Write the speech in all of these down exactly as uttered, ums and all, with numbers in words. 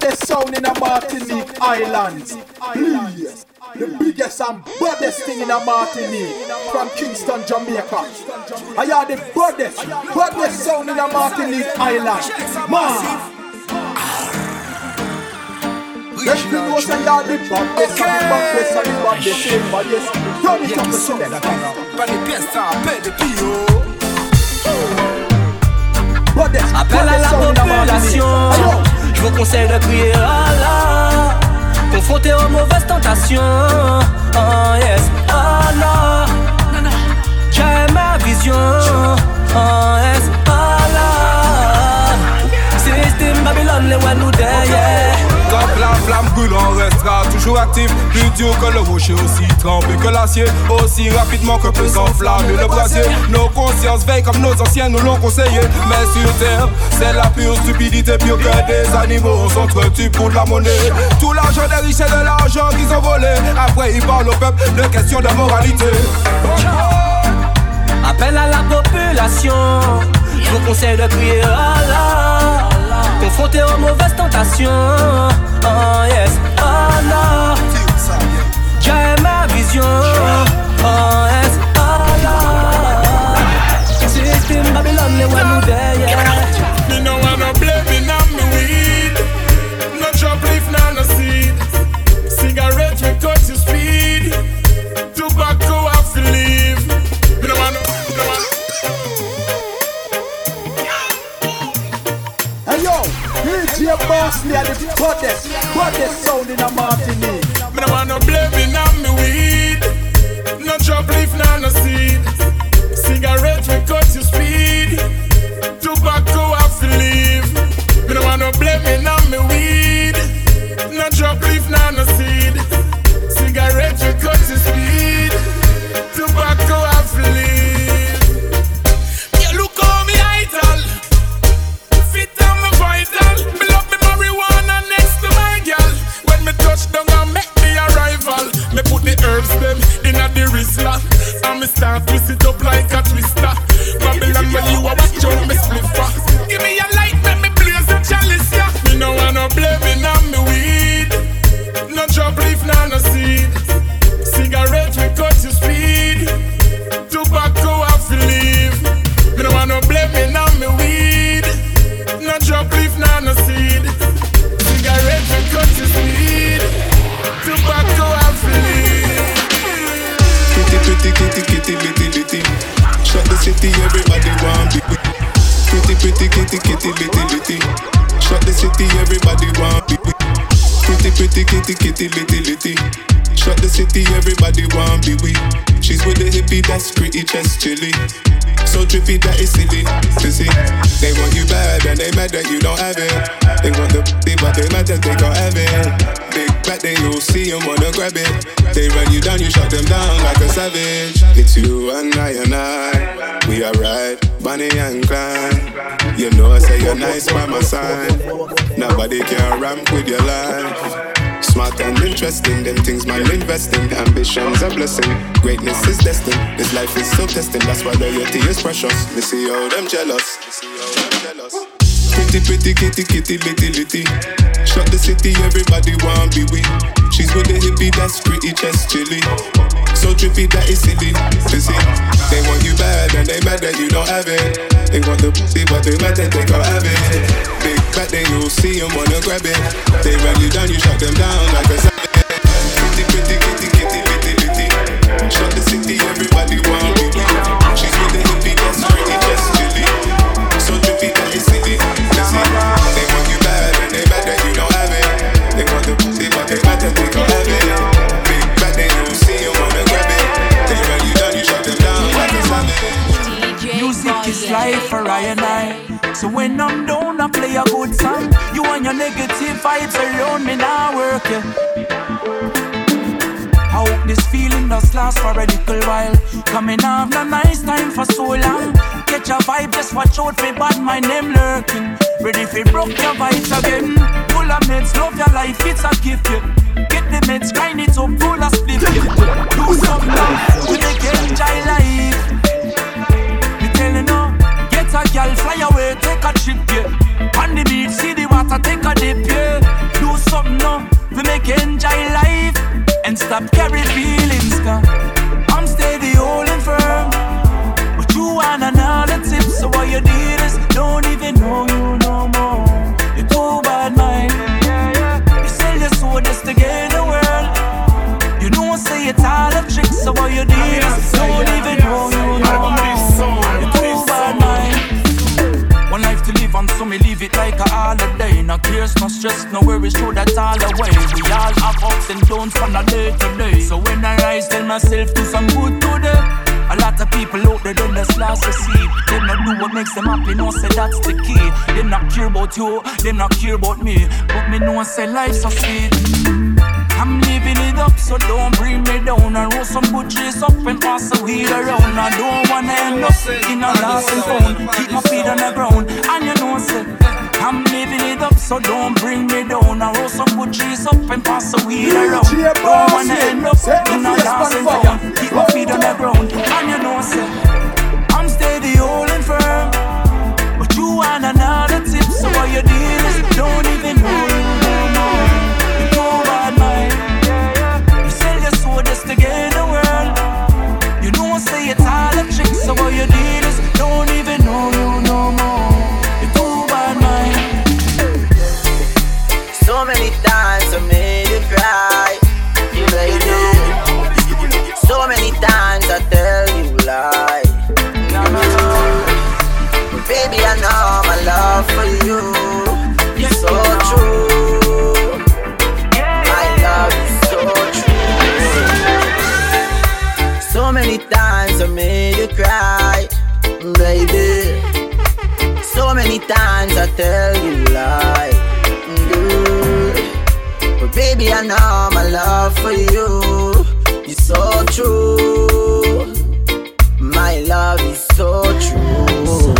baddest sound in the Martinique Islands. Please, the biggest and baddest thing in the Martinique, from Kingston, Jamaica. I are the baddest, baddest sound in the Martinique Islands. Man, let's be know say you are the baddest and the baddest and the baddest and the baddest. Turn it up to select. Appel à la population, je vous conseille de crier Allah, confronté aux mauvaises tentations. Oh yes, Allah, j'ai ma vision. Oh yes, Allah, système Babylone, les one nous derrière. Quand la flamme brûle, on restera toujours actif. Plus dur que le rocher, aussi trempé que l'acier. Aussi rapidement que peut s'enflammer le brasier. Nos consciences veillent comme nos anciens nous l'ont conseillé. Mais sur terre, c'est la pure stupidité. Pire que des animaux, on s'entretue pour de la monnaie. Tout l'argent des riches et de l'argent qu'ils ont volé. Après ils parlent au peuple de questions de moralité. Appel à la population, je vous conseille de crier Allah, confronté aux mauvaises tentations. Oh yes, Allah, j'ai ma vision. Oh yes, Allah, système Babylone, les one nous derrière. Me no wanna blame on me weed, no drop leaf, no seed. Cigarette we cut to speed, tobacco have to leave. Me no wanna, me no wanna. Hey yo, D J Bosley are the baddest, baddest sound in the Martinique. Me no wanna blame on me weed, no drop leaf, no seed. Cigarette we cut to speed, tobacco have to leave. Me no wanna blame on me weed, no drop leaf, no seed. Cigarette we cut to speed, tobacco have to leave. Yeah, look how me idol, fit on me vital. Me love me marijuana next to my girl. When me touch down and make me arrival, me put the herbs them in a the Rizla, and me start twist it up like a twister. Babylon when you a watch out me spliffer. Give me a light, make me blaze a chalice, yeah. Me no wanna blame me on me weed, no drop leaf, no seed. Cigarette we cut to speed, tobacco have to leave. Me no wanna blame me on me weed, no drop leaf, no seed. Cigarette we cut to speed, tobacco have to leave. Kitty, pretty, kitty, kitty, litty, litty. Shut the city, everybody want be. Pretty, pretty, kitty, kitty, litty, litty. Shut the city, everybody want be. Pretty, pretty, kitty, kitty, litty, litty. Shut the city, everybody want be we. She's with the hippie, that's pretty chest chilly. So trippy that is silly to see. They want you bad and they mad that you don't have it. They want the p***y but they mad that they can't have it. Big back they all see and wanna grab it. They run you down, you shut them down like a savage. It's you and I and I, we are right, Bonnie and Clyde. You know I say you're nice by my side. Nobody can ramp with your life. Smart and interesting, them things man investing. Ambition's a blessing, greatness is destined. This life is so testing, that's why loyalty is precious. Me see how them jealous, me see how them jealous. Pretty, pretty, kitty, kitty, litty, litty. Shut the city, everybody want be we. She's with the hippie, that's pretty chest chilly. So trippy, that is silly to see. They want you bad and they mad that you don't have it. They want the pussy but they mad that they can't have it. Big back they all see and wanna grab it. They run you down, you shut them down like a savage. Pretty, pretty, kitty, kitty, litty, litty. Shut the city, everybody want be we. She's with the hippie, that's pretty chest chilly. So trippy, that is silly to see. They want you bad and they mad that you don't have it. They want the pussy but they mad that they can't have it. Big back they all see and wanna grab it. They run you down, you shut them down like a savage. Music is life for I and I. So when I'm down, I play a good song. You and your negative vibes around me now work, yeah. I hope this feeling does last for a little while. Coming off no nice time for so long. Catch a vibe, just watch out for bad my name lurking. Ready for broke your vibes again. Full of meds, love your life, it's a gift, yeah. Get the meds, grind it up, full of split, yeah. Do something now, we make enjoy life. Me tell you now, a girl fly away, take a trip, yeah. On the beach, see the water, take a dip, yeah. Do enjoy life and stop carry feelings, cause I'm steady holding firm. But you want another tip, so what you did is don't even know you no more. You're too bad, mind. You sell your soul just to get the world. You know, say it's all a trick, so what you did is don't even know you no more. You're too bad, mind. One life to live on, so me leave it like a holiday. No cares, no stress, no worries, throw that all away. We all have ups and downs from a day to day. So when I rise, tell myself do some good today. A lot of people out there don't just last to see. They not do what makes them happy, no say that's the key. They not care about you, they not care about me. But me know say life's so sweet. I'm living it up, so don't bring me down. I roll some good trees up and pass the weed around. I don't wanna end up in a lost and found. Keep my feet on the ground, and you know say I'm living it up, so don't bring me down. I roll some good trees up and pass the weed around. Don't wanna end up in a lost and found. Keep my feet on the ground, and you know say I'm steady holding firm. But you want another tip, so what you did is don't even know you no more. You too bad, mind. You sell your soul just to get the world. You know say it's all a trick, so what you did is don't even know you no more. You too bad, mind. So many times I made you cry, baby. So many times I tell you lie. But baby, I know my love for you is so true. My love is so true. So many times I made you cry, baby. So many times I tell you lie. But baby, I know my love for you is so true. My love is so true.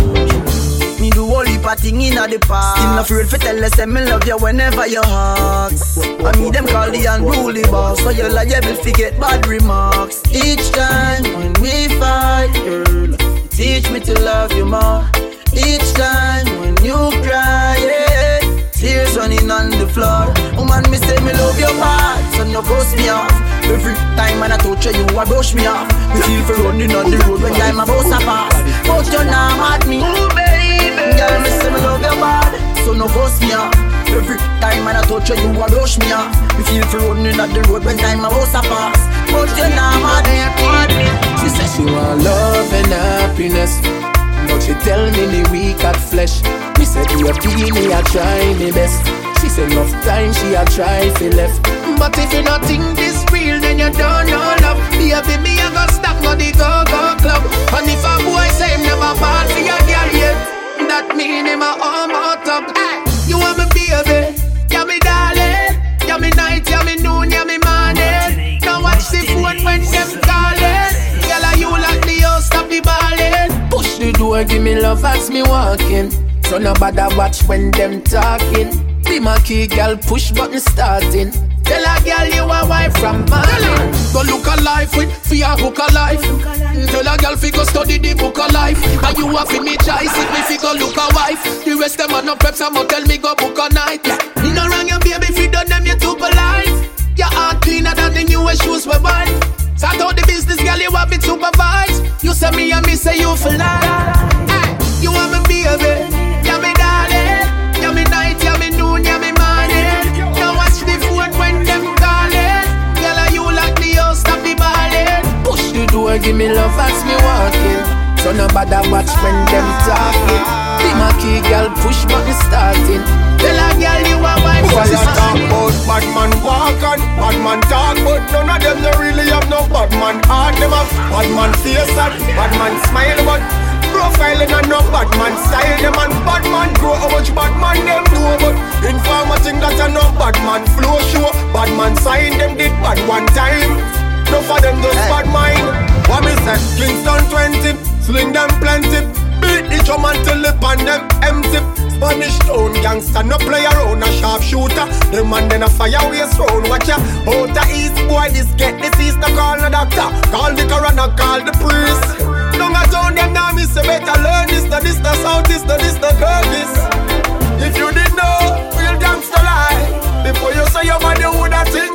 Me do all heap of thing inna the past. Still not afraid to tell us that me love you whenever you ask. I me them call the unruly boss, so you're liable to get bad remarks. Each time when we fight, girl, teach me to love you more. Each time when you cry, yeah, tears running on the floor. Woman, me say me love your heart, so no brush me off. Every time when I touch you, you a brush me off. Me feel for running on the road when time about to pass. But you not mad me, ooh baby. Girl, me say me love your bad, so no brush me off. Every time when I touch you, you a brush me off. Me feel for running on the road when time about to pass. But you not mad me. She said she want love and happiness, but she tell me me weak at flesh. Me said you feel me, I try me best. She said enough time she a try fi left. But if you not think this real, then you don't know love. Baby, me a go stop on the go-go club. And if a boy say him never fall for your girl yet, that mean him a arm out up. Hey, you want me baby, yeah me darling, yeah me night, yeah me noon, yeah me morning. Now watch the phone when them calling. Girl, are you like the house, stop the ballin'. Push the door, give me love as me walking. So no bother watch when them talking. Be my key, girl, push button starting. Tell a girl you a wife from Mali. Go look a life with fear hook a life. Tell a girl fi go study the book of life. And you a fi me choice if me fi go look a wife. The rest them a no prep, some a tell me go book a night. Yeah. Me no wrong your baby fi done them you too polite. Your heart cleaner than the newest shoes we buy. Start out the business, girl, you want me supervise. You say me and me say you for life. Hey, you want me baby, yeah me darling, yeah me night, yeah me noon, yeah me morning. Now watch the phone when them calling. Girl, are you like the house, stop the ballin'. Push the door, give me love as me walking. So no bother watch when them talking. Be my key, girl, push button starting. Tell a girl you a wife. Because I talk about bad man walk and bad man talk, but none of them they really have no bad man heart. Them have bad man face and bad man smile, but profiling and no bad man style. Them and bad man grow how much bad man them do, but informer think that a no bad man flow show. Bad man sign them did bad one time. No for them just bad mind. What me say? Kingston twenty, sling them plenty. Beat the drum until the pan them empty. Spanish town gangster no play around, a sharp shooter. The man then a fire waste round. Watch ya, out the east boy this get disease. No call no doctor, call the coroner, call the priest. Don't a town them now me say better learn this. No this no south this, no this no girl this. If you didn't know, real gangster lie. Before you say your body woulda think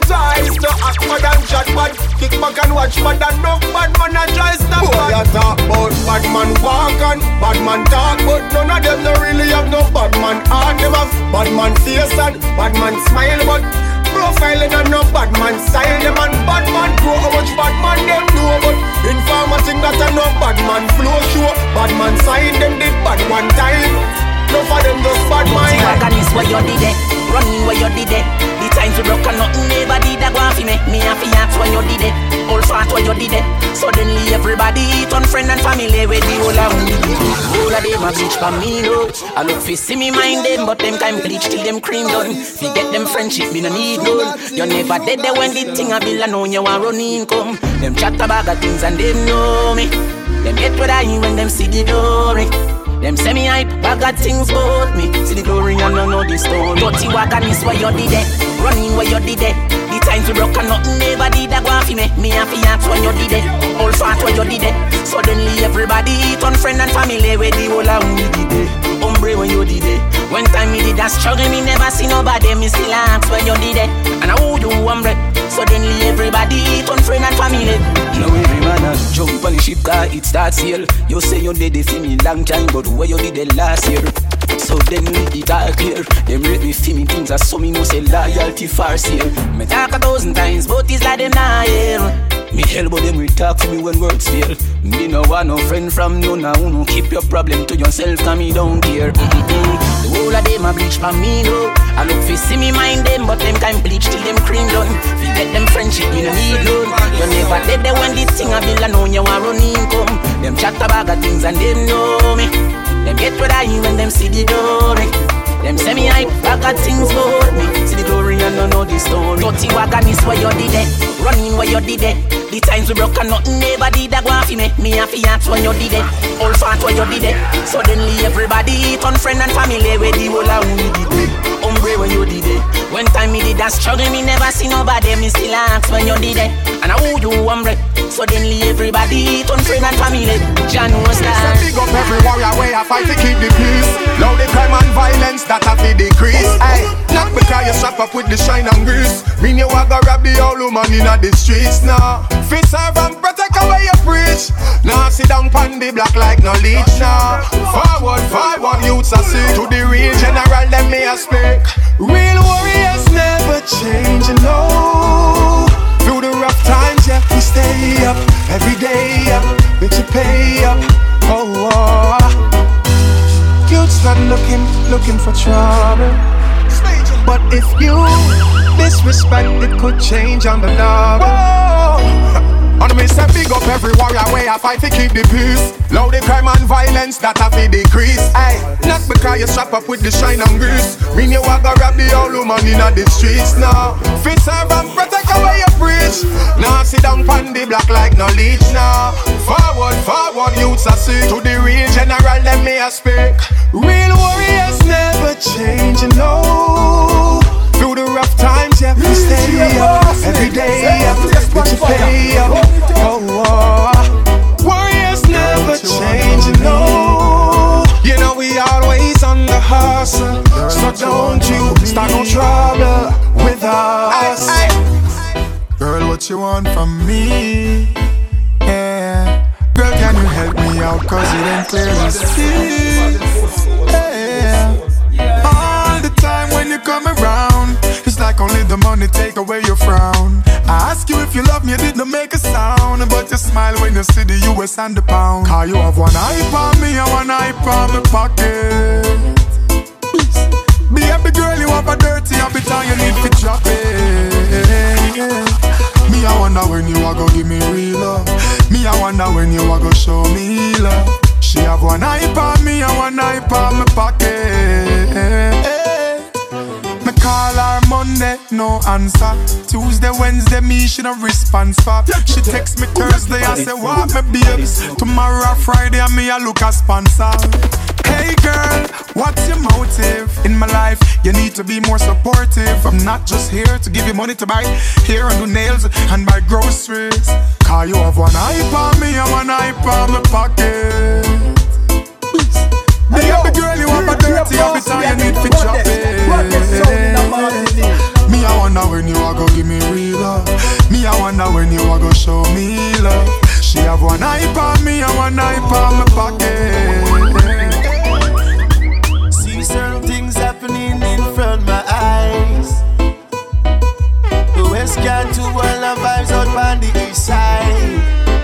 much bad enough bad man a try stop. Boy, you talk about bad man walk and bad man talk, but none of them no really have no bad man heart. Them have bad man face and bad man smile, but profiling and no bad man style. Them and bad man grow how much bad man them know, but informer think that a no bad man flow show. Bad man sign them did bad one time. No for them just bad mind. Organize where you did it, running where you did it. The times we broke and nothing never did a go off me. Me and fiance when you did it, all fat where you did it. Suddenly everybody turn friend and family with the whole of me. All of them a bitch for me no. I look fi see me mind them, but them time bleach till them cream done. Fi get them friendship, me no need none. You never dead there when the thing a bill and know you want run income. Them chat about the things and them know me. Them get what I when them see the glory. Them say me hype, I got things about me. See the glory and I know the story. Dirty wagon is where you did it, running where you did it. The times we broke and nothing never did a go off me. Me and fiance when you did it, all fat when you did it. Suddenly everybody turn friend and family with the whole of me did it. Hombre when you did it. When time me did that struggle, me never see nobody. Me still ask when you did it. And I would do hombre. Suddenly everybody turn friend and family. Now every man a jump on the ship car, it starts here. You say you did it for me long time, but where you did it last year? So then we it all clear. Them rate me for me things as so me no say loyalty far sale. Me talk a thousand times, but it's like them not here. Me hell but them we talk to me when words fail. Me no want no friend from none now. No keep your problem to yourself, cause me don't care. Mm-mm-mm. The whole of them a bleach for me no. I look fi see me mind them, but them kind bleach till them cream done. Fi get them friendship, me no need loan. You never dead there when this thing a bill and know you want run income. Them chat about the things and them know me. Them get what I when them see the glory. Them say me hype, I got things about me. See the glory and I know the story. Dirty wagon is where you did it, running where you did it. The times we broke and nothing never did a go off me. Me and fiance when you did it, all fat when you did it. Suddenly everybody turn friend and family with the whole of me did it. Hombre when you did it. When time me did that struggle, me never see nobody. Me still ask when you did it. And I who you hombre. Suddenly everybody turn friend and family. John was that. Big up every warrior way I fight to keep the peace. Loud the crime and violence that have to decrease. Aye, not because you strap up with the shine and grease. Mean you a go rob the old woman in the streets now. Fit serve and protect away your preach. Now sit down pon the block like no leech now. Forward, forward, youths are see to the real general, them me a speak. Real warriors never change, you know. Through the rough times, yeah, we stay up every day, up, bitch you pay up. Oh, oh. Youths not looking, looking for trouble. But if you disrespect, it could change on the double. And me say big up every warrior way I fight to keep the peace. Loud the crime and violence that have to decrease. Aye, not because you strap up with the shine and grease. Mean you a go rob the old woman in the streets now. Fit serve and protect away your preach. Now sit down pon the block like no leech now. Forward, forward, youths are see to the real general, them me a speak. Real warriors never change, you know. Through the rough times, yeah, we stay up every day, yeah, but you pay up. Oh, oh. Warriors never change, you know. You know we always on the hustle, so don't you start no trouble with us. Aye, aye. Girl, what you want from me? Yeah. Girl, can you help me out, cause it ain't clear to see. Yeah. All the time when you come around, it's like only the money take away your frown. I ask you if you love me, you didn't make a sound, but you smile when you see the U S and the pound. Cause you have one eye on me and one eye on my pocket. Baby girl, you have a dirty habit and you need to drop it. Me, I wonder when you are gonna give me real love. Me, I wonder when you are gonna show me love. She have one eye on me and one eye on my pocket. Me call her Monday, no answer. Tuesday, Wednesday, me she no response for. She text me Thursday, I say what me babes. Tomorrow, Friday, and me I look a sponsor. Hey girl, what's your motive in my life? You need to be more supportive. I'm not just here to give you money to buy hair and do nails and buy groceries. Cause you have one eye on me and one eye on my pocket. Hey, yo, girl, you have a dirty habit and you need to drop it. Me, I wonder when you are gonna give me real love. Me, me, I wonder when you are gonna show me love. She have one eye on me and one eye on my pocket. See certain things happening in front of my eyes. The West can to all the vibes out on the east side.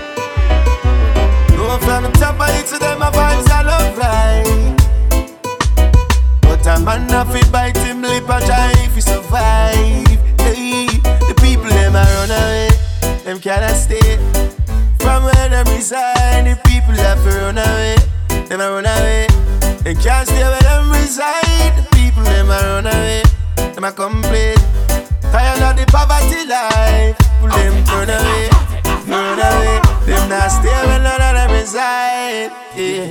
No from the top of it to them, my vibes are love right. But a man have to bite him lip and try if he survive. Hey, the people them a run away, them cannot stay. From where them reside, the people have to run away, them a run away. They can't stay where them reside, the people them a run away, them a complain. Tired of the poverty life, people them run away, run away. Them not stay where none of them reside. Yeah.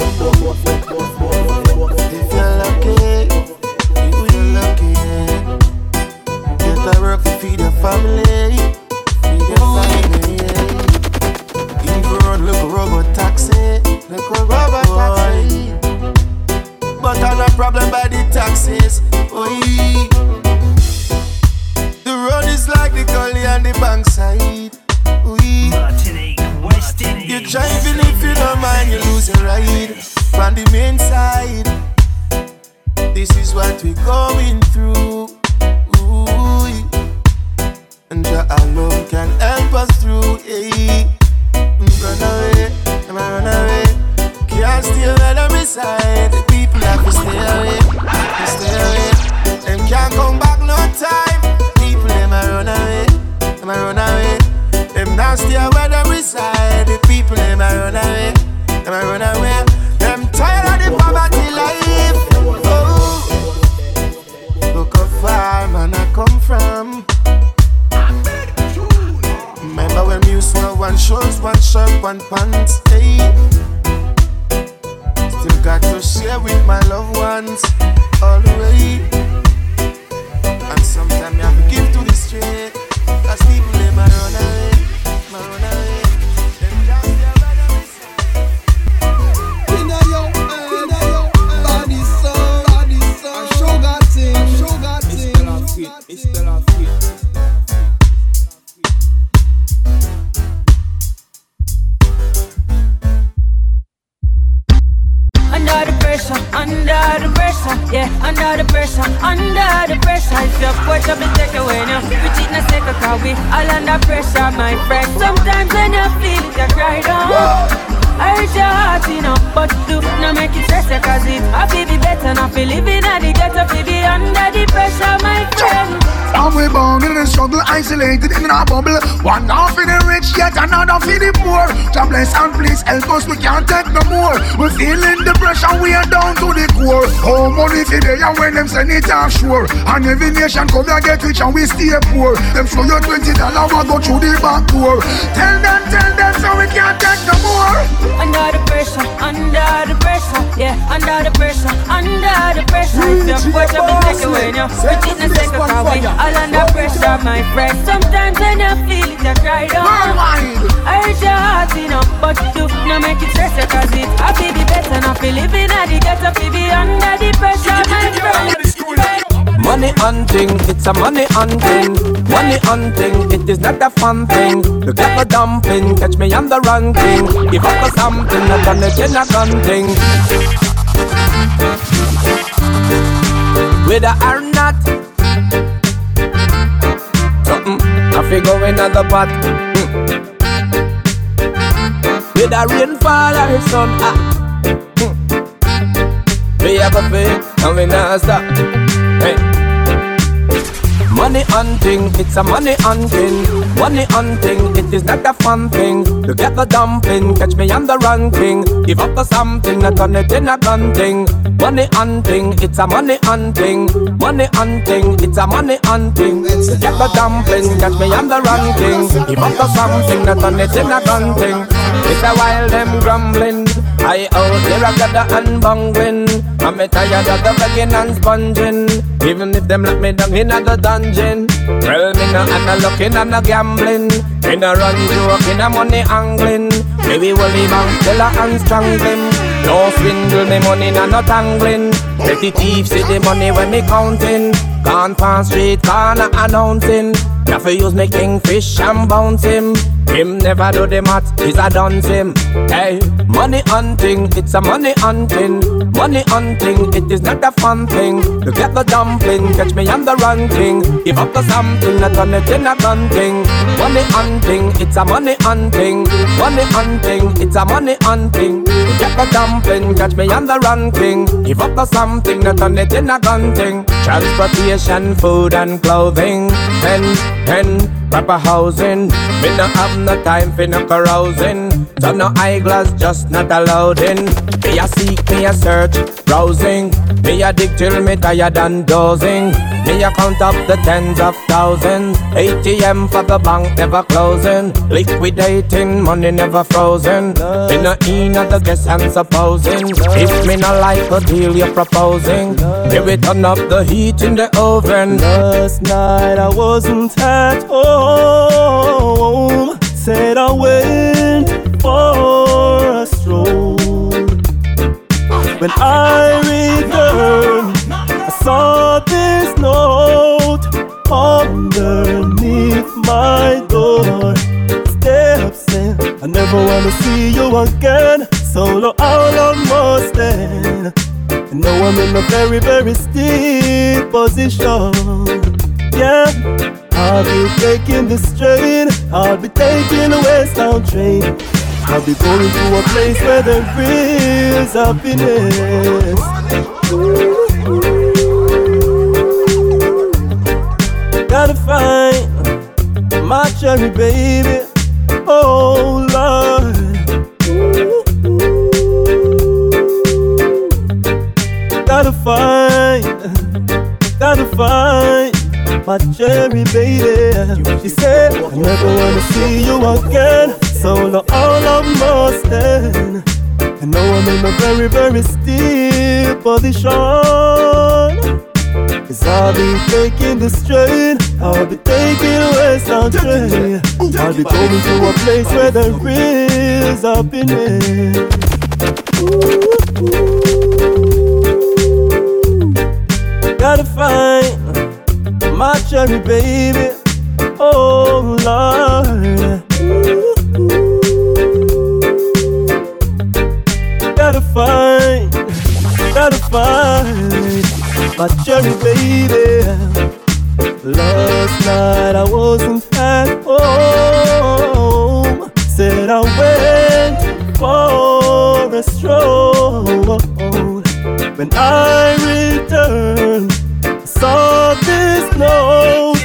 If you're lucky, if you're lucky, get a work to feed your family, feed your family. Even run like a robot taxi, like a robot taxi. But I'm not problem by the taxis. Oh, the road is like the gully and the bankside. You're driving if you don't mind, you lose your ride from the main side. This is what we're going through. Ooh. And Jah alone can help us through. Hey. Run away, I'm a run away. Can't stay where them reside. The people have to stay away, to stay away. Them can't come back no time. People them a run away, them a run away. Them not stay where them reside. The people them a run away, them a run away. Them tired of the poverty life. Oh, look how far man I come from. Remember when we used to have one shoes, one shirt, one pants. Hey, still got to share with my loved ones all the way. And sometimes you have to give to the street. Cause people them a run away, them a run away. Them can't stay where them reside. Inna yo, inna yo, body so, body so. Sugar thing, sugar thing. It's still a fit, it's still a fit. Under the pressure, under the pressure, yeah, under the pressure, under the pressure. If your push up and take away now, we cheat in a second, cause we all under pressure, my friend. Sometimes when you feel it, you cry down. I hurt your heart, you know, but do not make it stress you, cause it I feel be better, not feel living at the ghetto, feel be under the pressure, my friend. And we bound in the struggle, isolated in a bubble. One half in the rich, yet another for the poor. God bless and please help us, we can't take no more. We feeling the pressure, we are down to the core. How money for they and when them send it offshore. And every nation come here get rich and we stay poor. Them show you twenty dollars, we go through the back door. Tell them, tell them, so we can't take no more. Under the pressure, under the pressure, yeah, under the pressure, under the pressure. If your push up and take away now, we cheat in a second, cause we all under pressure, my friend. Sometimes when you feel it, you cry down. I hurt your heart, you know, but do not make it stress you, cause it I feel be better, not feel living at the ghetto, feel be under the pressure, my friend. Money hunting, it's a money hunting. Money hunting, it is not a fun thing. Look at the dumpling, catch me on the ranking. Give up for something, I done it in a gun thing. Whether or not something, I figure in the pot. mm. Whether rainfall or sun, ah. mm. We have a faith and we not stop. Hey. Money hunting, it's a money hunting. Money hunting, it is not a fun thing. Look at the dumpling, catch me on the ranking. Give up for something, I done it in a gun thing. Money hunting, it's a money hunting. Money hunting, it's a money hunting. Look at the dumpling, catch me on the ranking. Give up for something, I done it in a gun thing. It's a while them grumbling. I out there I got the unbungling. I'm tired of the begging and sponging. Even if them lock me down in the dungeon. Well, me no and no looking and no gambling. Me no run joke in a money angling. Maybe we'll leave and killer and strangling. No swindle me money no no tangling. Let the thief see the money when me counting. Gone past street corner announcing. Now for use me kingfish and bounce him. Him never do the math, he's a dunce him. Hey, money hunting, it's a money hunting. Money hunting, it is not a fun thing. To get the dumpling, catch me on the run king. Give up the something, not turn it in a gun thing. Money hunting, it's a money hunting. Money hunting, it's a money hunting. To get the dumpling, catch me on the run king. Give up the something, not turn it in a gun thing. Transportation, food and clothing. Pen, pen, proper housing. Me no have no time for no carousing. So no eyeglass, just not allowed in. Me a seek, me a search, browsing. Me a dig till me tired and dozing. Me a count up the tens of thousands. A T M for the bank never closing. Liquidating, money never frozen. Me no in at the guess and supposing. If me no like the deal you're proposing, maybe turn up the heat in the oven. Last night I wasn't at home. Said I went for a stroll. When I returned, I saw this note underneath my door. Steps in, I never wanna see you again. Solo out on Mustang. And now I'm in a very, very steep position. Yeah, I'll be taking this train. I'll be taking a westbound train. I'll be going to a place where there is happiness. Ooh, ooh. Gotta find my cherry baby. Oh Lord. Ooh, ooh. Gotta find, gotta find my cherry baby. She said, I never wanna see you again. Solo all of Mustang. And now I'm in a very, very steep position. Cause I'll be taking this train. I'll be taking a westbound train. I'll be going to a place where there is happiness. Ooh, ooh. Gotta find my cherry baby. Oh Lord. Gotta find, gotta find my cherry baby. Last night I wasn't at home. Said I went for a stroll. When I returned, I saw this note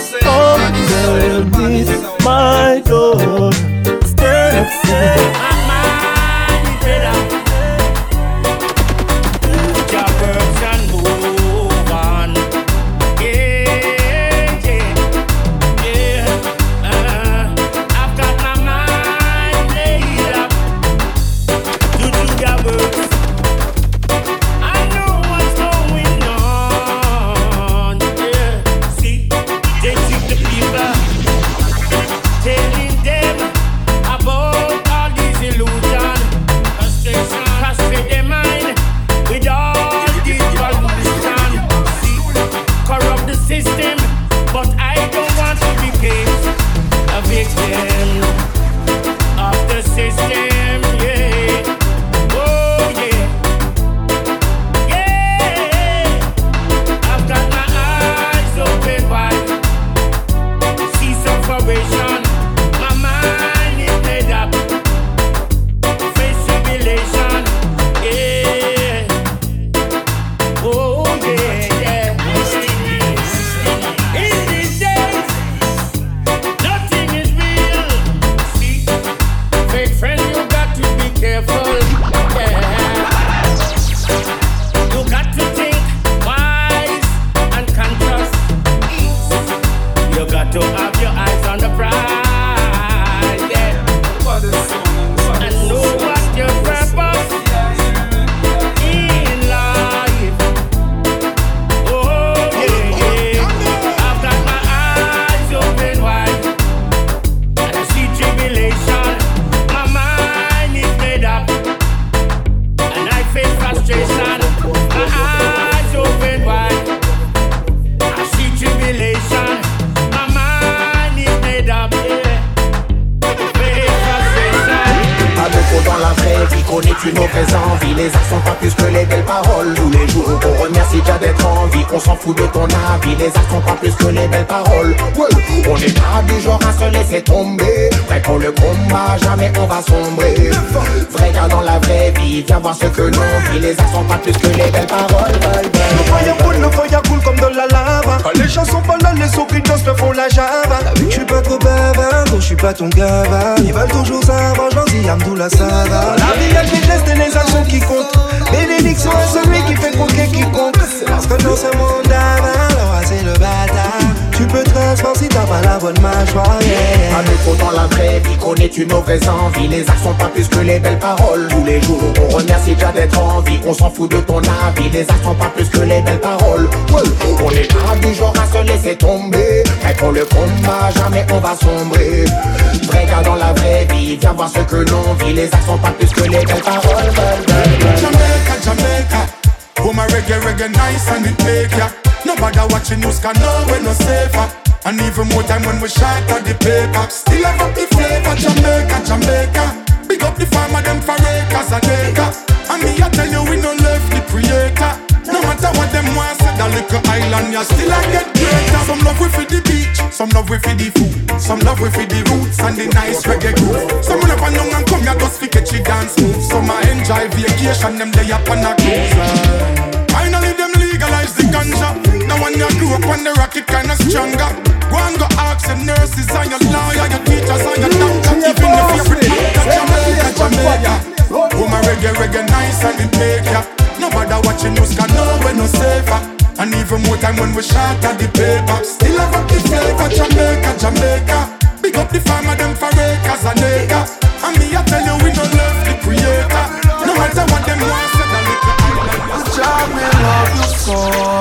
underneath my door. Steps in. I know what's going on. connais-tu nos vraies envies? Les actes sont pas plus que les belles paroles. Tous les jours on remercie déjà d'être en vie. On s'en fout de ton avis. Les actes sont pas plus que les belles paroles. Ouais. On est pas du genre à se laisser tomber. Prêt pour le combat, jamais on va sombrer. Vrai gars dans la vraie vie, viens voir ce que l'on vit. Les actes sont pas plus que les belles paroles. Le fire cool, le fire cool comme dans la lava. Quand les gens sont pas là, les souris dansent, le font la java. T'as vu que je suis pas trop bavard, donc je suis pas ton gava. Ils veulent toujours savoir, j'en dis Amdoula ça va. La vie, elle déteste les actions qui comptent. Bénédiction à celui qui fait croquer quiconque. Parce que dans ce monde d'avant, c'est le bâtard. Tu peux te transformer si t'as pas la bonne mâchoire, yeah. À nous dans la vraie vie, connais-tu nos vraies envies? Les actes sont pas plus que les belles paroles. Tous les jours on remercie déjà d'être en vie. On s'en fout de ton avis. Les actes sont pas plus que les belles paroles. Ouais. On est pas du genre à se laisser tomber. Prêt pour le combat, jamais on va sombrer. Vrai gars dans la vraie vie, viens voir ce que l'on vit. Les actes sont pas plus que les belles paroles. Jamaica, Jamaica, oh my reggae, reggae nice and it make ya. Nobody watching us can know we're no safer. And even more time when we shot at the paper. Still have up the flavor, Jamaica, Jamaica. Big up the farmer, them for acres and acres. And me I tell you we no left the creator. No matter what them want, say that little island, you still I get greater. Some love we for the beach, some love we for the food, some love we for the roots and the nice reggae groove. Some never know and come here just fi catch it dance move. Some I enjoy vacation, them day up on a cruise. Finally them legalize the ganja. Now when you grew up on the rocket kinda stronger. Go and go ask your nurses and your lawyer, your teachers and your doctors. Even if you're pretty, Jamaica, Jamaica. Oh my reggae, reggae nice and it make ya. Nobody watching news can know we're no safer. And even more time when we shot at the paper. Still have up the flavor, Jamaica, Jamaica. Big up the farmer, them for acres and acres. And me I tell you we no left the creator. No matter what them want, say that little island. The job me love you so.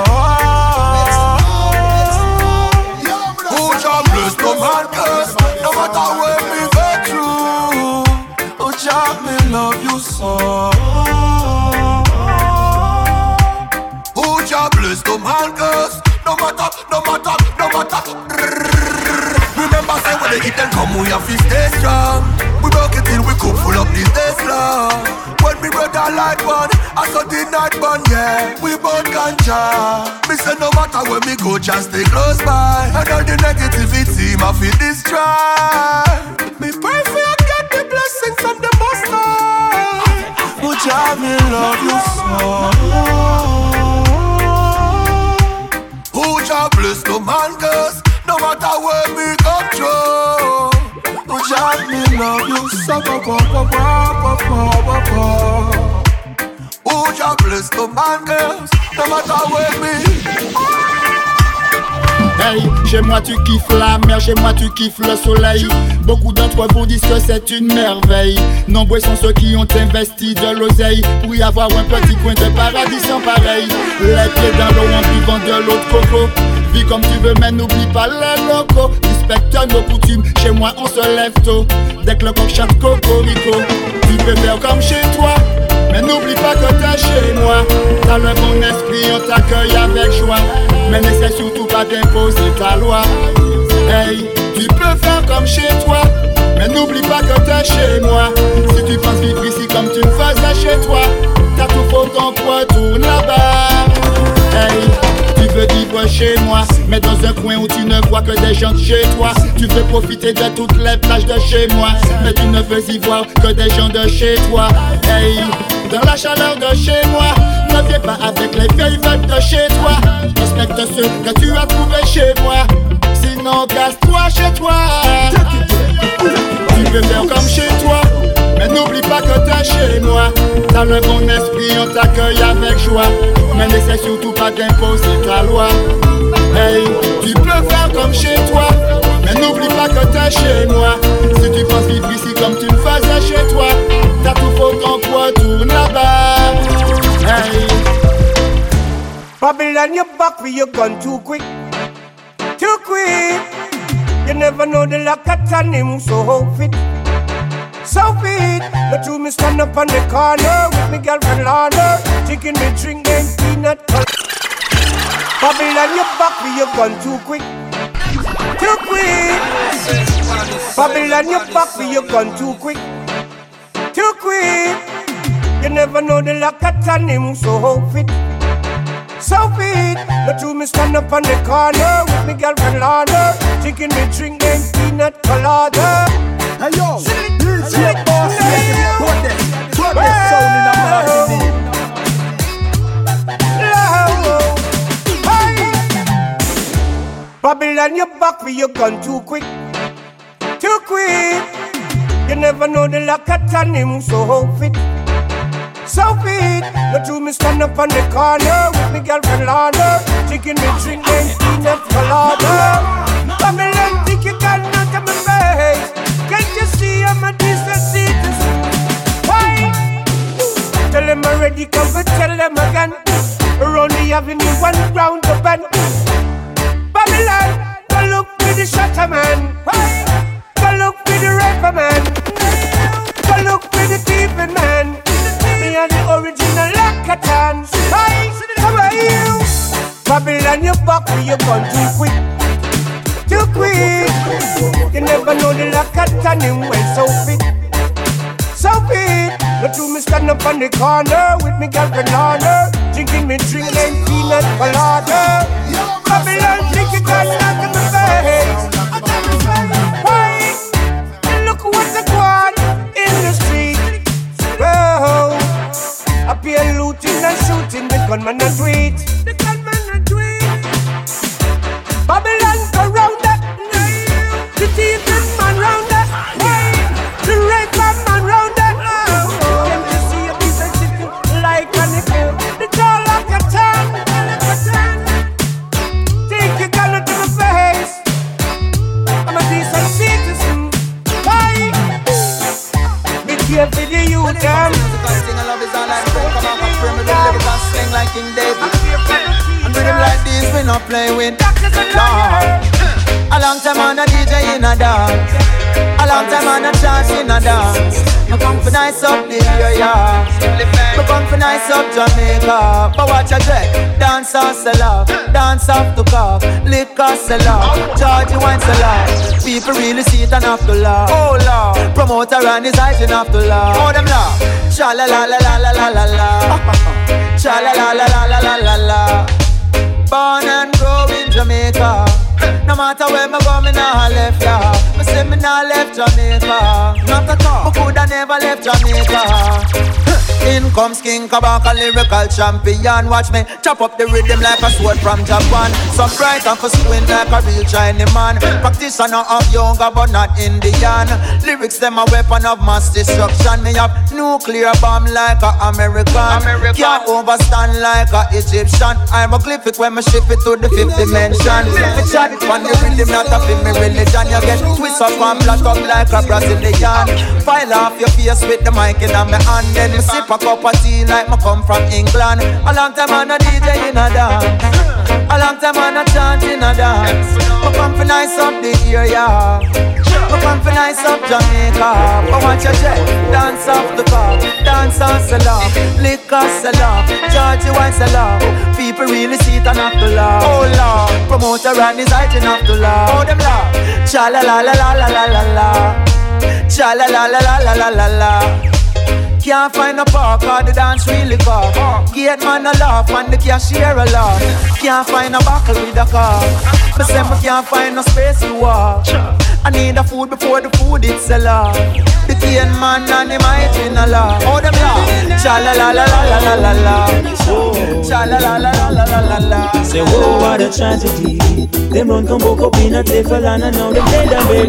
Who job bless no man curse. No matter where we go through. Who job me love you so. Bless no man curse. No matter, no matter, no matter. Remember say when the hit them come we have to stay strong. We broke it till we could full up this day long. When me brother light one, I saw the night one, yeah. We both ganja. Me say no matter where me go, just stay close by. And all the negativity, my feel destroy. Me pray for you get the blessings from the Most High. Would you me love you so? Who job bless no man curse. No matter where we go through. Who job me love you so. Who job bless no man curse. No matter where we. Hey, chez moi tu kiffes la mer, chez moi tu kiffes le soleil. Beaucoup d'entre vous disent que c'est une merveille. Nombreux sont ceux qui ont investi de l'oseille pour y avoir un petit coin de paradis sans pareil. Les pieds dans l'eau en buvant de l'eau de coco. Vis comme tu veux mais n'oublie pas les locaux. Respecte nos coutumes, chez moi on se lève tôt. Dès que le coq chante cocorico. Tu peux faire comme chez toi, mais n'oublie pas que t'es chez moi. T'as le bon esprit, on t'accueille avec joie. Mais n'essaie surtout pas d'imposer ta loi. Hey, tu peux faire comme chez toi, mais n'oublie pas que t'es chez moi. Si tu penses vivre ici comme tu me faisais chez toi, t'as tout faux, ton poids tourne là-bas. Hey, tu veux vivre chez moi, mais dans un coin où tu ne vois que des gens de chez toi. Tu veux profiter de toutes les plages de chez moi, mais tu ne veux y voir que des gens de chez toi. Hey, dans la chaleur de chez moi, ne viens pas avec les vieilles vagues de chez toi. Respecte ceux que tu as trouvés chez moi, sinon casse-toi chez toi. Tu veux faire comme chez toi, mais n'oublie pas que t'es chez moi. T'as le bon esprit, on t'accueille avec joie. Mais n'essaie surtout pas d'imposer ta loi. Hey, tu peux faire comme chez toi, mais n'oublie pas que t'es chez moi. Si tu penses vivre ici comme tu me faisais chez toi, t'as tout faux, ton poids tourne là-bas. Hey, Babylon, you back for your gun too quick, too quick. You never know the lock at time him so fit, so fit. But you me stand up on the corner with me girlfriend Lana, taking me drink and peanut butter. Babylon, you back for your gun too quick, too quick. Babylon, you back for your gun too quick, too quick. You never know the lock at on him, so fit. So fit. The two me stand up on the corner with me girlfriend Lana, drinking me drink and peanut colada. Hey yo, this your boss, yeah, put this, put this sound in a martini. Babylon, you back for your gun too quick, too quick. You never know the lock at on him, so fit. So fit. The two me stand up on the corner with me girlfriend Lana, drinking me drink and peanut colada. Babylon, think you got nothing to my face. Can't you see I'm a decent citizen? Why? Tell them already, come but tell them again. Around the avenue, one round the bend. Babylon, go look for the shutter man. Go look for the rapper man. Go look for the thieving man. Me and the original Lakatans. Hey, how are you? Babylon, you back with your gun too quick, too quick. You never know the Lakatan him well so fit, so fit. The two me stand up on the corner with me girlfriend Lana, drinking me drink and peanut colada. Babylon, drink it all out of my face. Why? And look what's going on in the street. Oh, I be looting and shooting, the gunman and tweet. The gunman and tweet. Babylon go round that. The thieving man round that. The rape man round that. Them to see a piece of chicken like a nickel. The jaw like a tan. Take your gun to my face. I'm a decent citizen. Why? Be careful the youth them. Like King David, and rhythm like this we not play with. Lord, a long time on a D J in a dance, a long time on a chance in a dance. Me come for nice up the area, me come for nice up Jamaica. But watch a dread, dance or sell off, dance off to cough, liquor sell off, Georgie wine sell off. People really see it and have to laugh. Oh Lord, promoter and his eyes and have to laugh. Oh them laugh, cha la la la la la la la la. Cha la la la la la la la la. Born and grow in Jamaica. No matter where me go, me nah left ya. Me say me nah left Jamaica. Not at all. Me coulda never left Jamaica. In comes King Kabaka, lyrical champion. Watch me chop up the rhythm like a sword from Japan. Some bright and for squint like a real Chinese man. Practitioner of younger but not Indian. Lyrics them a weapon of mass destruction. Me have nuclear bomb like a American. American. Can't overstand like a Egyptian. I'm a glyphic when me ship it to the fifth dimension. Me chat it on the rhythm, not a film, me religion. You get twist up and flat up like a Brazilian. File off your face with the mic in my hand. Then me sip a cup of tea like me come from England. A long time on a D J in a dance, a long time on a chant in a dance. Me come for nice up the area, me come for nice up Jamaica. But watch your jet, dance off the car, dance on sell off, liquor sell off, Georgie wine sell off. People really see it and have to laugh. Oh Lord, promoter and his eyes and have to laugh. Oh them laugh, cha la la la la la la la la, cha la la la la la la la la. Can't find a park or the dance really car. Gate man a laugh and the cashier a laugh. Can't find a buckle with a car. Me say me can't find no space to walk. I need a food before the food it's a law. The cane man and the might in a law. Oh them laugh, cha la la la la la la la la, cha la la la la la la la la. Say oh what a tragedy. Them run come woke up in a table and now them dead and buried.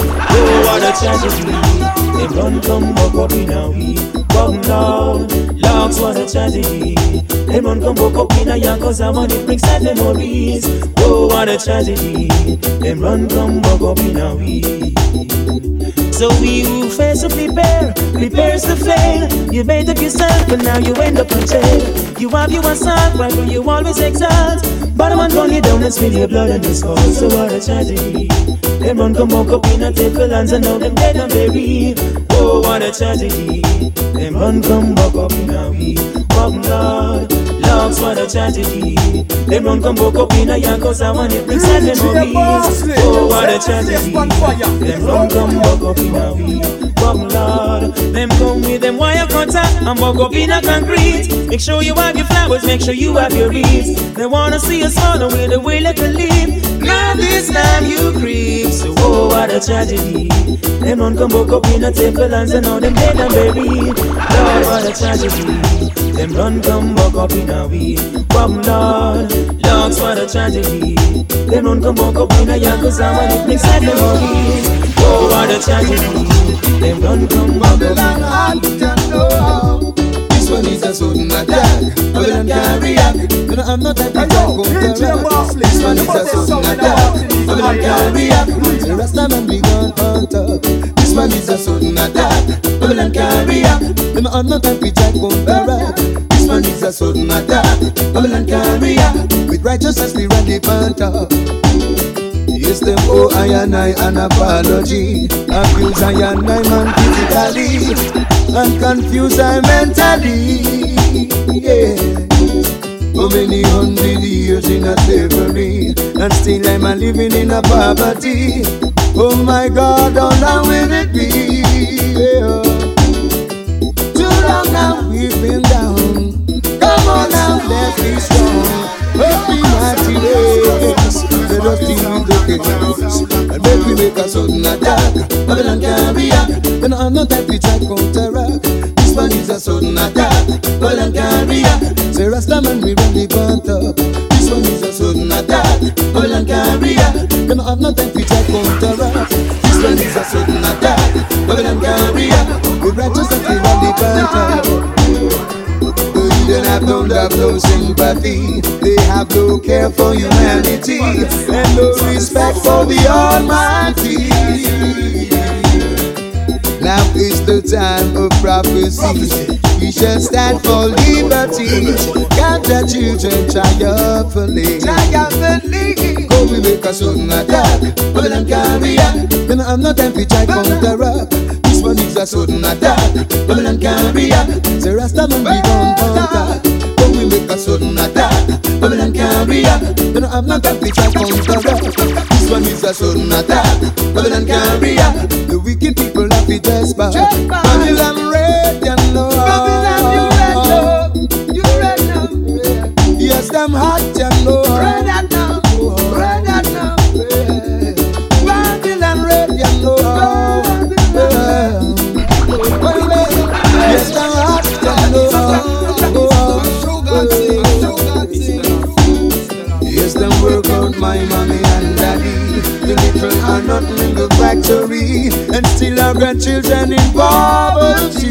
Oh what a tragedy. Them run come woke up in a week. Come down, logs, what a tragedy. Them run come woke up in a young cause I want it brings sad memories. Oh what a tragedy. Them run come woke up in a week. So we who fail to prepare, prepares to fail. You made up yourself but now you end up in jail. You have your assault, why will you always exalt? But I'm run you down and spill your blood on this cause. So what a tragedy. Them run come woke up in a table and now them dead and buried. Oh what a tragedy. Them run come back up in a week. Come Lord, loves what a tragedy. Them run come back up in a young cause I want it brings sad memories. Oh what a tragedy. Them run come back up in a week. Come Lord, them come with them wire cutter and walk up in a concrete. Make sure you have your flowers, make sure you have your wreaths. They wanna see us fall away the way like a leaf. Now this time you creep, so oh what a tragedy. Them run come walk up in a temple and say now them dead and buried. Lord what a tragedy. Them run come walk up in a weed. Come Lord, Lord what a tragedy. Them run come walk up in a yakuza and it makes sad memories. Oh what a tragedy. Them run come walk up in a weed. This one is a sudden attack. Babylon can't react. You know I'm not that kind of counteract. This one is a sudden attack. Babylon can't react. The rest of them be gone on top. This one is a sudden attack. Babylon can't react. You know I'm not that kind of counteract. This one is a sudden attack. Babylon can't react. With righteousness we run the on top. Yes, them oh I and I an apology. Abuse I and I man physically and confuse I mentally. Yeah. So many hundred years in a slavery, and still I'm a living in a poverty. Oh my God, how long will it be? Yeah. Too long now we've been down. Come on now, let's be strong. Let's be mighty days. Let us deal with the chaos and make we make a sudden attack. Babylon can't react. You know I'm not that we try counteract. This one is a sudden attack. Babylon can't react. Say Rastaman we run the front up. This one is a sudden attack. Babylon can't react. You know I'm not that we try counteract. This one is a sudden attack. Babylon can't react. We righteousness we run the front up. They have no love, no sympathy. They have no care for humanity and no respect for the Almighty. Now is the time of prophecy. We shall stand for liberty. Count the children triumphantly. Triumphantly. Go we make a sudden attack. Babylon can't react. Then I'm not time to try counteract. This one is a sudden attack. Babylon can't react. Say Rastaman be gone contact. Go we make a sudden attack. Babylon can't react. Then I'm not time to try counteract. This one is a sudden attack. Babylon can't react. The wicked people have to despise. Babylon red and low. Babylon you red low. You red now. Yes, them hot and low. Red and now. Red and now. Babylon red and low. Yes, them hot and low. Yes, them work out my mommy and daddy. The little are nothing in the factory, and still our grandchildren in poverty.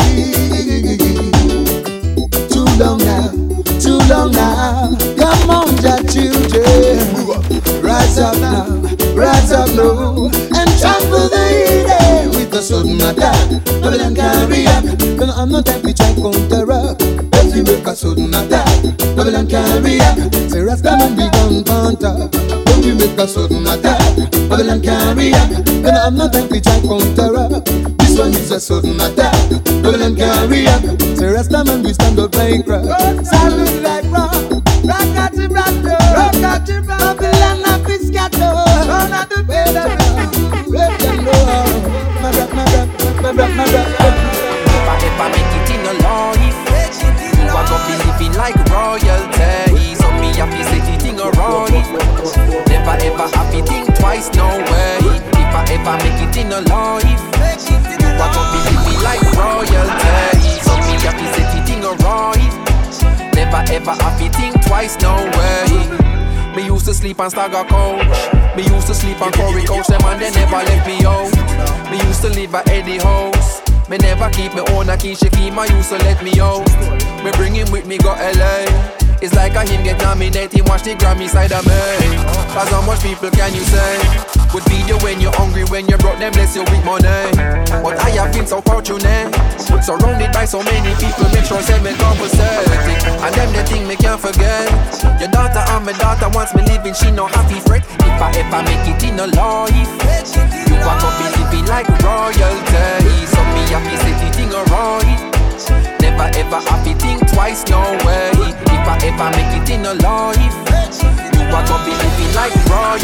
Too long now, too long now. Come on, your children, rise up now, rise up now, and trample the hidden with a sudden attack. Babylon can't react. Then I'm not happy to counteract. If you make a sudden attack, Babylon can't react. Say Rastaman be gone contact. If you make a sudden attack, Babylon can't react. Then I'm not happy to counteract. This one is a sudden attack. Babylon can't react. Say Rastaman we stand up like rock. Silent like rock. Rock at the rock. Rock at the rock. Babylon up is scattered. Run at the bed. Let them know. My rock, my rock, my rock, my rock. If I ever make it in a life, you are gonna be living like royalty. So me happy say the thing alright. Never ever happy think twice, no way. If I ever make it in a life, you are gonna be living like royalty. So me happy say the thing alright. Never ever happy think twice, no way. Me used to sleep on Stagger Coach. Me used to sleep on Corey Coach. Them and they never left me out. Me used to live at Eddie House. Me never keep me own a key, she keep my used to let me out. Me bring him with me, go L A. It's like a him get nominated, watch the Grammy side of me. Cause how much people can you say would feed you when you're hungry, when you brought them bless you with money. But I have been so fortunate, surrounded by so many people, make sure say me compensate. And them the thing me can't forget. Your daughter and my daughter wants me living, she no happy fret. If I ever make it in a life, you are gonna be living like royalty. So me happy say the thing alright. Never ever happy think twice, no way. If I ever make it in a life, you are gonna be living like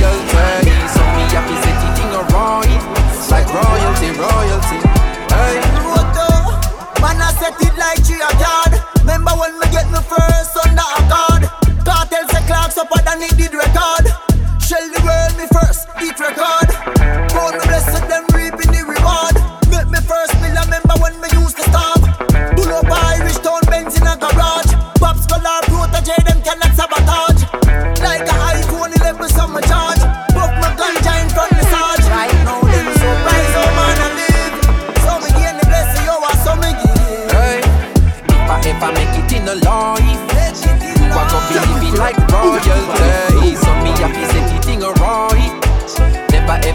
royalty. So me happy say the thing alright. Like royalty, royalty. Hey.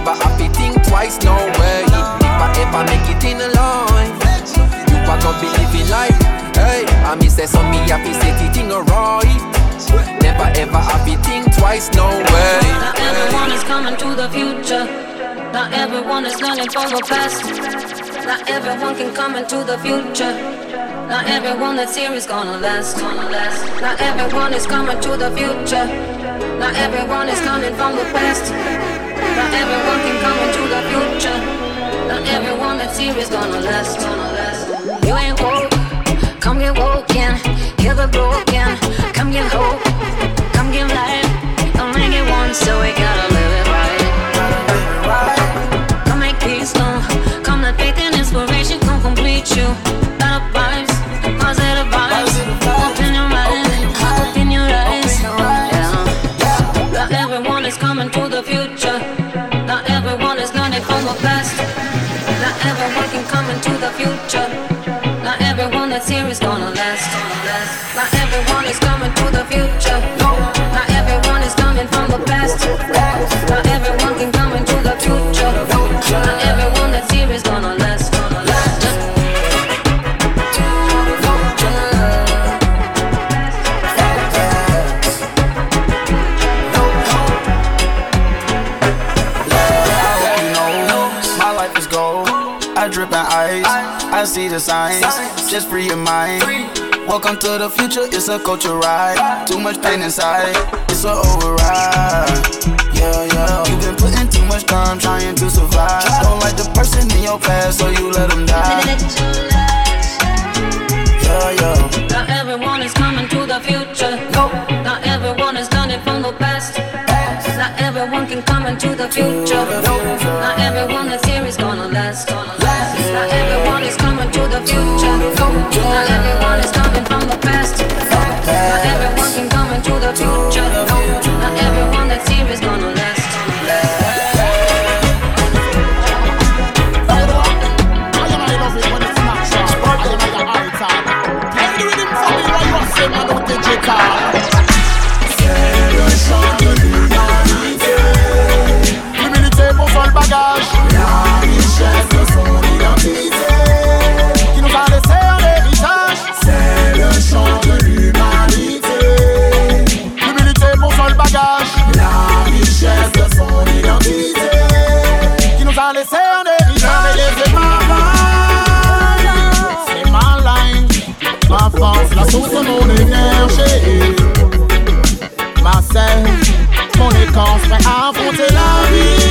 ever have to think twice, no way. If I ever make it in a life, you are gonna be living life. Hey, I me say some me happy say the thing alright. Never ever have to think twice, no way. Not everyone is coming to the future. Not everyone is learning from the past. Not everyone can come into the future. Not everyone that's here is gonna last. Not everyone is coming to the future. Not everyone is coming from the past. Not everyone can come into the future. Not everyone that's here is gonna last. You ain't woke, come get woken. Hear the broken, come get hope, come get life. Don't make it once, so we gotta live it right. Come make peace, no. Come let faith and inspiration come complete you. Better vibes, positive vibes. Open your mind, open your eyes. Yeah. Not everyone is coming to the future. Not everyone is learning from the past. Not everyone can come into the future. Not everyone that's here is gonna last. Not everyone is coming to the future. Not everyone is coming from the past. Not everyone can come into the future. Not everyone that's here is gonna last. I drip and ice, I see the signs, just free your mind. Welcome to the future, it's a culture ride. Too much pain inside, it's an override. Yeah, yeah, you've been putting too much time trying to survive. Don't like the person in your past, so you let them die. Yeah, yeah. Not everyone is coming to the future. No. Not everyone is learning from the past. Not everyone can come into the future. Not everyone that's here is gonna last. Not everyone is coming to the future. Not everyone is coming from the past. Not everyone can come into the future. Not everyone that's here is gonna last. L'humilité pour son bagage, la richesse de son identité, qui nous a laissé un héritage. C'est le chant de l'humanité. L'humilité pour son bagage, la richesse de son identité, qui nous a laissé un héritage. C'est ma line, c'est ma line, ma force, la source de mon énergie. Ma scène, mon écorce prêt à affronter la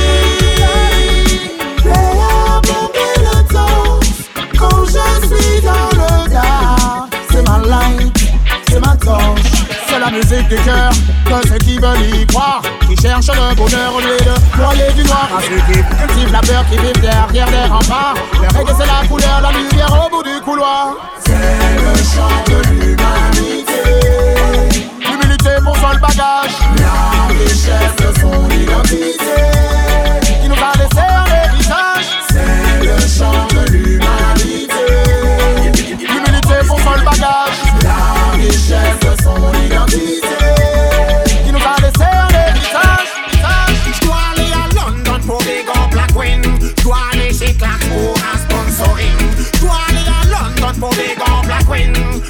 vie. Prêt à bomber le temps quand je suis dans le gars. C'est ma light, c'est ma torche. C'est la musique du cœur de ceux qui veulent y croire, qui cherchent le bonheur au lieu de noyer du noir. À ceux qui cultivent la peur, qui vivent derrière les remparts. Le reggae c'est la couleur, la lumière au bout du couloir. C'est le chant de l'humanité. L'humilité pour son bagage, la richesse de son identité, qui nous a laissé un héritage. C'est le chant de l'humanité. L'humilité pour son bagage, la richesse de son identité, qui nous a laissé un héritage. Je dois aller à London pour Big Up la Queen. Je dois aller chez Clark pour un sponsoring. Je dois aller à London pour Big Up la Queen.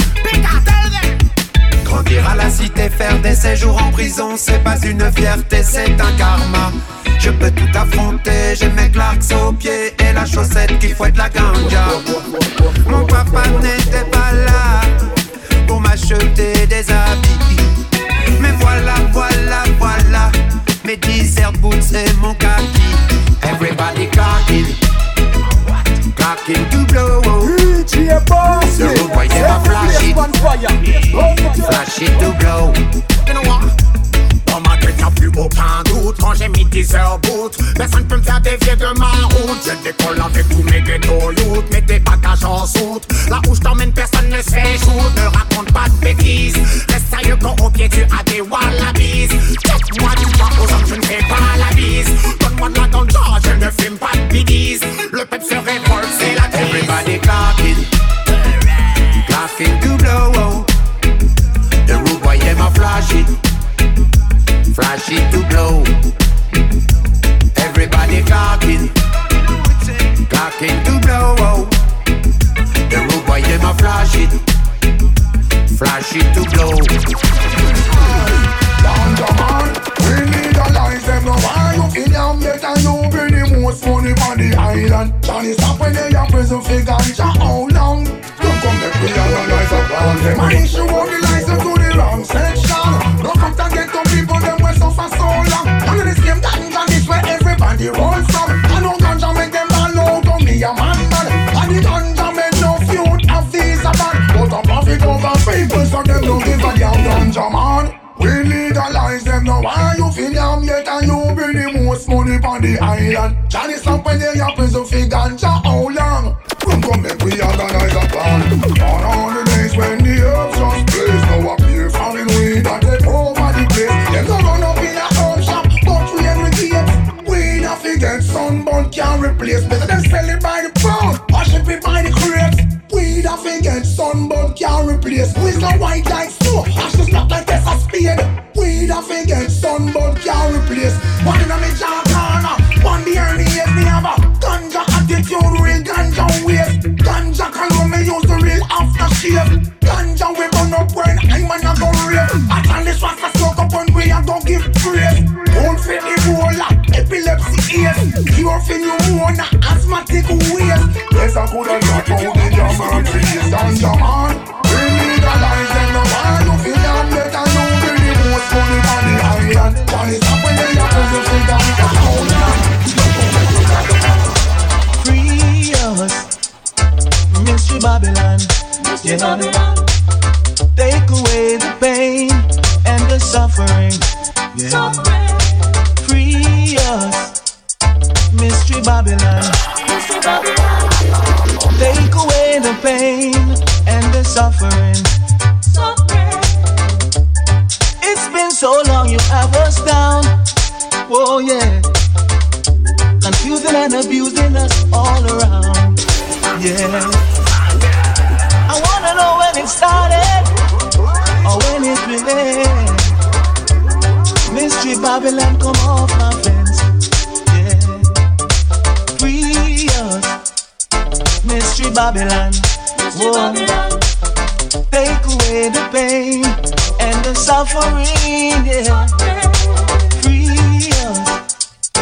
Grandir à la cité, faire des séjours en prison, c'est pas une fierté, c'est un karma. Je peux tout affronter, j'ai mes Clarks aux pieds et la chaussette qui fouette la ganja. Mon papa n'était pas là pour m'acheter des habits, mais voilà, voilà, voilà mes desert boots et mon kaki. Everybody clocking, clocking to blow. D J Boss, the road boy never flash it, flash it to blow. You know what? Dans ma tête y'a plus aucun doute. Quand j'ai mis dix heures boot, personne peut me faire dévier de ma route. Je décolle avec tous mes ghetto youth, mets tes bagages en soute. Là où je t'emmène personne ne se fait shoot. Ne raconte pas de bêtises, reste sérieux quand au pied tu as des wallabies. Check-moi du doigt aux hommes, je ne fais pas la bise. Donne-moi de la ganja, je ne fume pas de bidis. Le peuple se révolte, c'est la crise. Everybody clocking, clocking to blow. The rude boy, them a flash it, flash it to glow. Everybody clocking. on the island. Johnny stop when they are prison for ganja. How long? Don't come back with analyze a plan. Them an issue out the license to the wrong section. No come to get to people them were so for so long. One of the same ganja this where everybody rolls from. I know ganja make them all out to me a man man. And the ganja make no feud of these a man. But a profit over people so them don't give a damn ganja man. We legalize them now. Why you feel yam yet and you bring the most money on the island? Johnny stop when they are prison for ganja. How long? Come come make we organize a plan. On all the days when the herbs just blaze, now appear foreign weed and take over the place. Them don't run up in a herb shop, but we every gate. Weed off against sunburn can't replace. Better than sell it by the pound, or ship it by the crates. Weed off against sunburn can't replace. We's no white like snow, ashes not like this a spade. Weed off against sunburn can't replace. One in a me jaw corner, one behind the ears me have a ganja attitude, real ganja waste. Ganja cologne me use the real aftershave. Ganja we burn up when I'm a go rave. I tell this was a smoke up when we a go give praise. Don't fit the roller, epilepsy ears. Cure for pneumonia, asthmatic waste. Yes I could have not told the jam and trees ganja man. We legalize them now. Why you feel them let and you bring the most money on the island. One is up when they are prison for ganja. Free us, Mystery Babylon. Mystery Babylon. Take away the pain and the suffering. Yeah. Free us, Mystery Babylon. Mystery Babylon. Take away the pain and the suffering. Suffering. It's been so long you have us down. Oh yeah. Confusing and abusing us all around. Yeah. I wanna know when it started or when it will end. Mystery Babylon, come off my fence. Yeah. Free us, Mystery Babylon. Whoa. Take away the pain and the suffering. Yeah. Free us.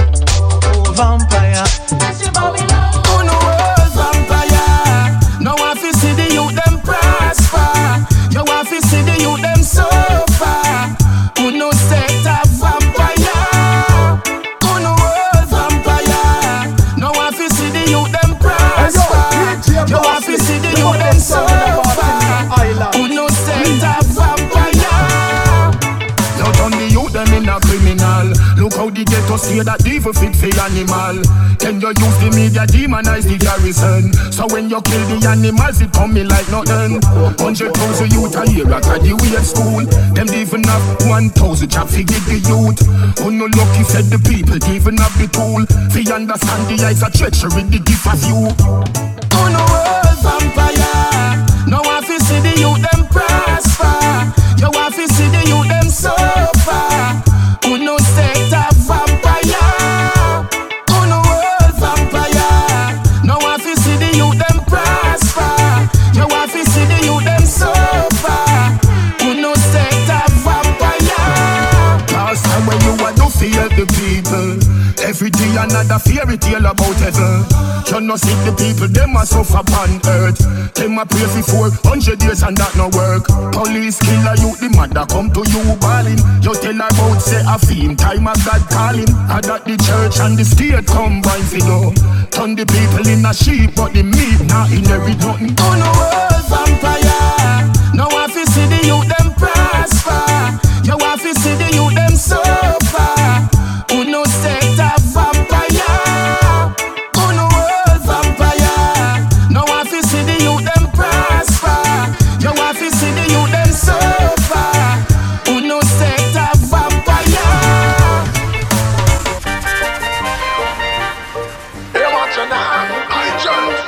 Vampire. Who know world vampire? Now I fi see the youth them prosper. You want fi see the youth them suffer. Who know set a vampire? Who know world vampire? Now I fi see the youth them prosper. You want fi see the youth them suffer. Who know set a vampire? Now turn the youth them in a criminal. Look how the ghetto say that devil fit for animal. Then you use the media demonize the garrison. So when you kill the animals it come me like nothing. Hundred thousand youth a year at the weird school. Them even have one thousand job fi give the youth. Who no lucky said the people even have the tool. Fi understand the eyes of treachery the gift of you. Who no world vampire? Now I fi see the youth them prosper. You want fi see the youth them suffer. Who no set a vampire? Who no world vampire? Now I fi see the youth them prosper. You want fi see the youth them suffer. Who no set a vampire? Last time when you want to feel the people, every day another fairy tale about heaven. You no see the people, them a suffer upon earth. Them a pray for four hundred years and that no work. Police kill a youth, the mother come to you bawling. You tell her about say a theme, time of God calling. And that the church and the state combine for you. Turn the people in a sheep, but the meat not inherit nothing. Oh no world vampire. Now I fi see the youth them prosper. You want fi see the youth them suffer. Who no set a vampire? Who no world vampire? Now I fi see the youth them prosper. You want fi see the youth them suffer. Who no set a vampire? Hey, watch your now, I just.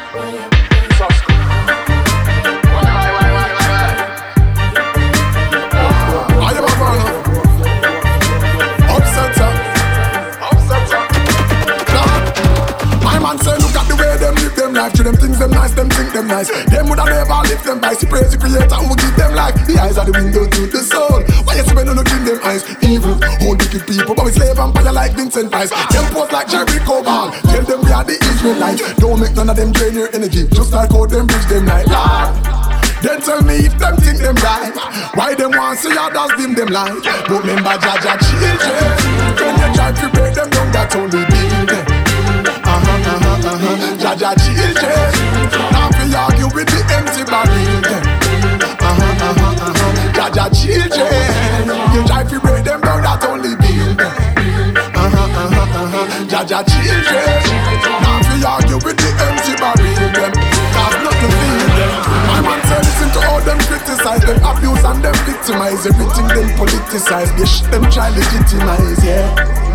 Life to them things them nice, them think them nice. Them woulda never live them by. See praise the creator who give them life. The eyes are the window to the soul. Why you see when you look in them eyes? Evil, old wicked people, but we slave vampire like Vincent Price. Them pose like Jericho Ball. Tell them we are the Israelites. Don't make none of them drain your energy, just like how them bridge them like Lord. Then tell me if them think them right, why them want see others dim them light. But remember Jaja children, when you try to break them down, that only build them. Uh-huh, uh-huh, uh-huh. Jaja children, now we argue with the empty barrel them. Uh-huh, uh-huh, uh-huh. Jaja children, you try to break them down, that only build them. Uh-huh, uh-huh, uh-huh. Jaja children, now we argue with the empty barrel them. Cause nothing feel them. I want to listen to all them criticize, them abuse and them victimize. Everything them politicize, they shit them try legitimize, yeah.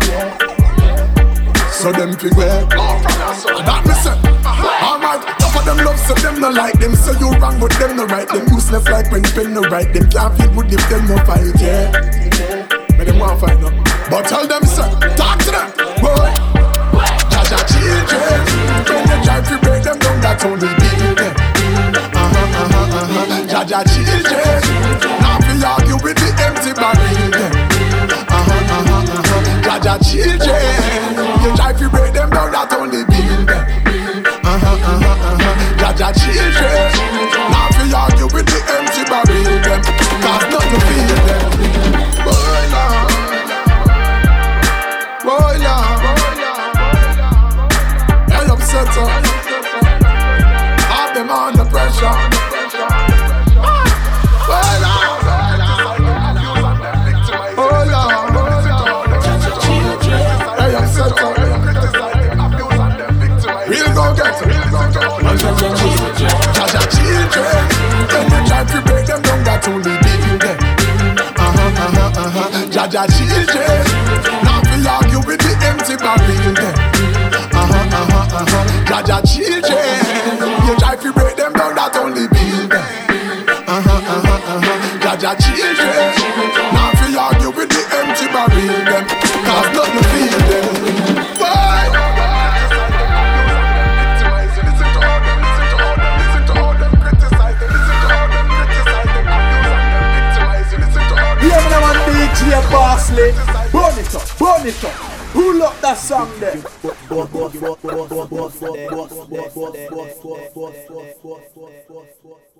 So them figure, that me say, alright, half of them love so them no like them. So you wrong but them no right. Them useless like when pen no right. Them can't feel good if them no fight, yeah. But them want fight no. But tell them so, talk to them, boy. Jaja children, when you try to break them down, that's only build them. Uh-huh, uh-huh, uh-huh. Jaja children, now we argue with the empty barrel them. Uh-huh, uh-huh, uh-huh. Jaja children, you try to break them down, that only build them. Uh-huh, uh-huh, uh-huh. Jaja children, now we argue with the empty barrel them. Cause nothing feel them. Boy, Lord, boy, Lord, hey, upset up. Have them under pressure. Boy, Lord, oh Lord, hey, upset up. We'll go get it. Jaja children, when you try to break them down, that only build them. Uh-huh, uh-huh, uh-huh. Jaja children, now we argue with the empty barrel them. Uh-huh, uh-huh, uh-huh. Jaja children, you try to break them down, that only build them. Uh-huh, uh-huh, uh-huh. Jaja children, now we argue with the empty barrel them. Cause nothing feel them. Bye. Yeah, man, I want D J Bossley. Burn it up, burn it up. Who love that song there?